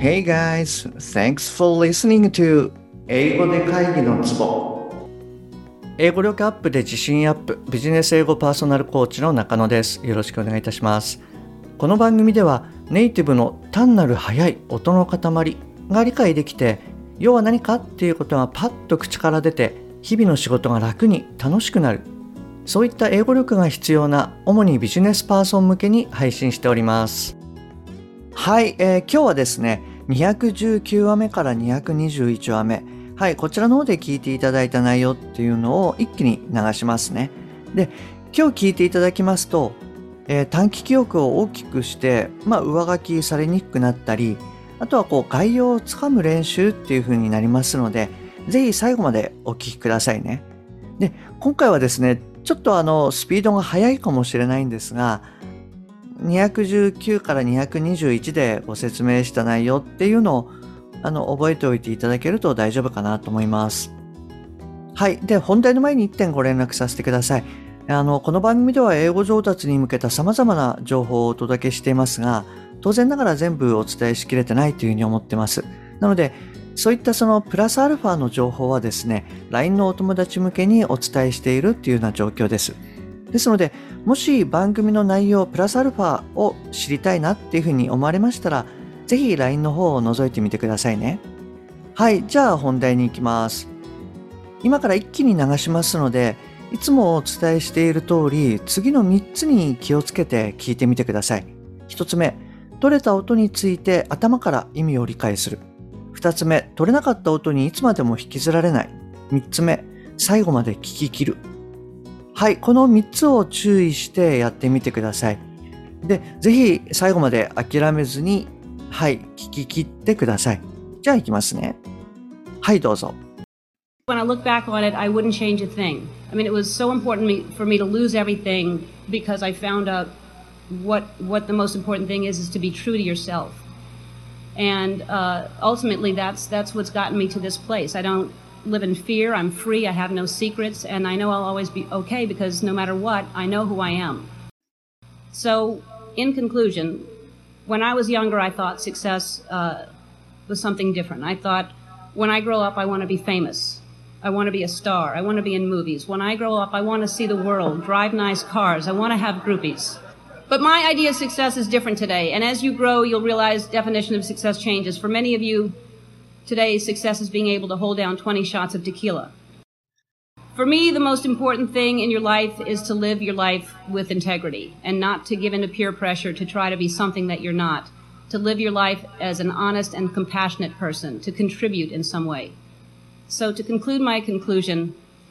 Hey guys, thanks for listening to 英語で会議のツボ。英語力アップで自信アップ、ビジネス英語パーソナルコーチの中野です。よろしくお願いいたします。この番組ではネイティブの単なる速い音の塊が理解できて、要は何かっていうことがパッと口から出て、日々の仕事が楽に楽しくなる。そういった英語力が必要な主にビジネスパーソン向けに配信しております。はい、今日はですね、219話目から221話目。はい、こちらの方で聞いていただいた内容っていうのを一気に流しますね。で、今日聞いていただきますと、短期記憶を大きくして、上書きされにくくなったり、あとは概要をつかむ練習っていう風になりますので、ぜひ最後までお聞きくださいね。で、今回はですね、ちょっとスピードが速いかもしれないんですが、219から221でご説明した内容っていうのを覚えておいていただけると大丈夫かなと思います。はい。で、本題の前に1点ご連絡させてください。この番組では英語上達に向けた様々な情報をお届けしていますが、当然ながら全部お伝えしきれてないというふうに思ってます。なので、そういったそのプラスアルファの情報はですね、LINE のお友達向けにお伝えしているっていうような状況です。ですので、もし番組の内容プラスアルファを知りたいなっていうふうに思われましたら、ぜひ LINE の方を覗いてみてくださいね。はい、じゃあ本題に行きます。今から一気に流しますので、いつもお伝えしている通り、次の3つに気をつけて聞いてみてください。1つ目、取れた音について頭から意味を理解する。2つ目、取れなかった音にいつまでも引きずられない。3つ目、最後まで聞き切る。はい、この3つを注意してやってみてください。で、ぜひ最後まで諦めずに、はい、聞き切ってください。じゃあ行きますね。はい、どうぞ。 When I look back on it, I wouldn't change a thing. I mean, it was so important for me to lose everything because I found out what the most important thing is to be true to yourself. And ultimately, that's what's gotten me to this place. I don't live in fear. I'm free. I have no secrets. And I know I'll always be okay because no matter what, I know who I am. So, in conclusion, when I was younger, I thought success was something different. I thought, when I grow up, I want to be famous. I want to be a star. I want to be in movies. When I grow up, I want to see the world, drive nice cars. I want to have groupies. But my idea of success is different today. And as you grow, you'll realize definition of success changes. For many of you, today, success is being able to hold down 20 shots of tequila. For me, the most important thing in your life is to live your life with integrity and not to give in to peer pressure to try to be something that you're not. To live your life as an honest and compassionate person, to contribute in some way. So to conclude my conclusion,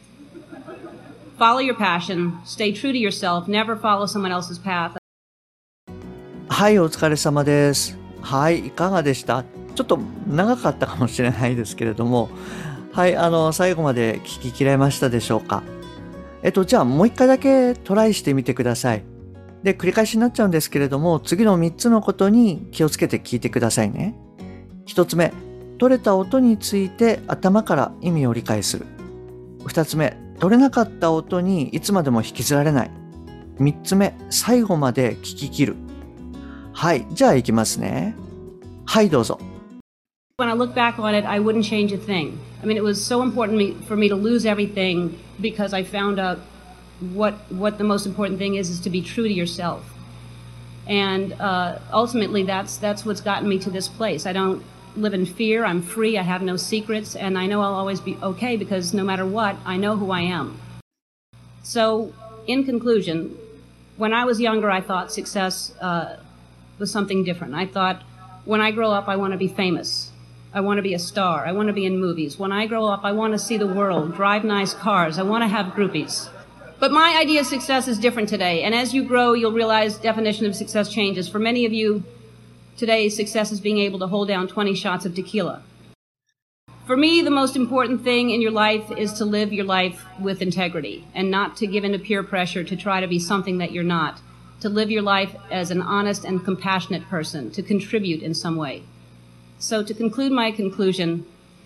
follow your passion, stay true to yourself, never follow someone else's path. はい、お疲れ様です。はい、いかがでした？ちょっと長かったかもしれないですけれども、はい、最後まで聞ききれましたでしょうか？じゃあもう一回だけトライしてみてください。で、繰り返しになっちゃうんですけれども、次の3つのことに気をつけて聞いてくださいね。1つ目、取れた音について頭から意味を理解する。2つ目、取れなかった音にいつまでも引きずられない。3つ目、最後まで聞き切る。はい、じゃあ行きますね。はい、どうぞ。 When I look back on it, I wouldn't change a thing. I mean, it was so important for me to lose everything because I found out what the most important thing is to be true to yourself. And ultimately, that's what's gotten me to this place. I don't live in fear. I'm free. I have no secrets. And I know I'll always be okay because no matter what, I know who I am. So, in conclusion, when I was younger, I thought success was something different. I thought, when I grow up, I want to be famous. I want to be a star. I want to be in movies. When I grow up, I want to see the world, drive nice cars. I want to have groupies. But my idea of success is different today. And as you grow, you'll realize definition of success changes. For many of you, today, success is being able to hold down 20 shots of tequila. For me, the most important thing in your life is to live your life with integrity and not to give in to peer pressure to try to be something that you're not. To live your life as an honest and compassionate person, to contribute in some way. So to conclude my conclusion,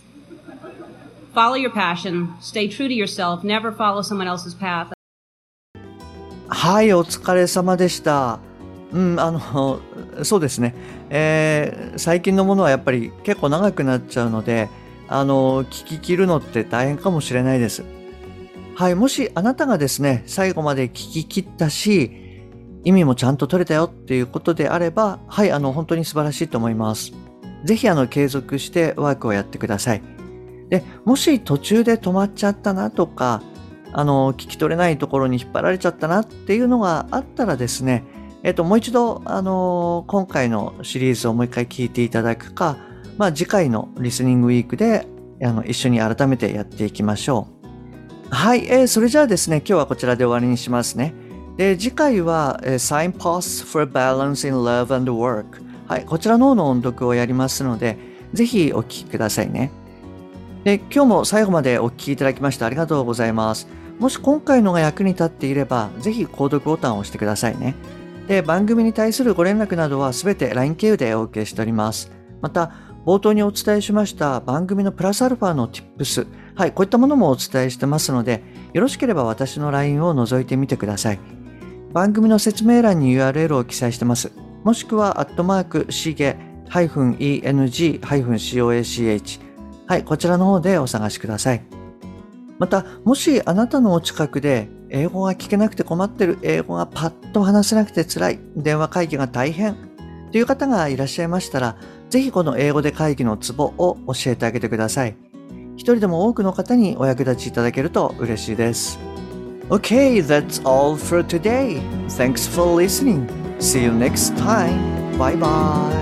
follow your passion, stay true to yourself, never follow someone else's path. はい、お疲れ様でした。 そうですね。最近のものはやっぱり結構長くなっちゃうので、聞き切るのって大変かもしれないです。はい、もしあなたがですね、最後まで聞き切ったし、意味もちゃんと取れたよっていうことであれば、はい、本当に素晴らしいと思います。ぜひ継続してワークをやってください。で、もし途中で止まっちゃったなとか、聞き取れないところに引っ張られちゃったなっていうのがあったらですね、もう一度、今回のシリーズをもう一回聞いていただくか、次回のリスニングウィークで、一緒に改めてやっていきましょう。はい、それじゃあですね、今日はこちらで終わりにしますね。で、次回は、Signposts for Balance in Love and Work。はい、こちらの方の音読をやりますので、ぜひお聞きくださいね。で、今日も最後までお聞きいただきましてありがとうございます。もし今回のが役に立っていれば、ぜひ購読ボタンを押してくださいね。で、番組に対するご連絡などはすべて LINE 経由でお受けしております。また、冒頭にお伝えしました番組のプラスアルファの Tips、はい、こういったものもお伝えしてますので、よろしければ私の LINE を覗いてみてください。番組の説明欄に URL を記載してます。もしくは、@shige-eng-coach、はい、こちらの方でお探しください。また、もしあなたのお近くで英語が聞けなくて困ってる、英語がパッと話せなくて辛い、電話会議が大変という方がいらっしゃいましたら、ぜひこの英語で会議のツボを教えてあげてください。一人でも多くの方にお役立ちいただけると嬉しいです。Okay, that's all for today. Thanks for listening. See you next time. Bye bye.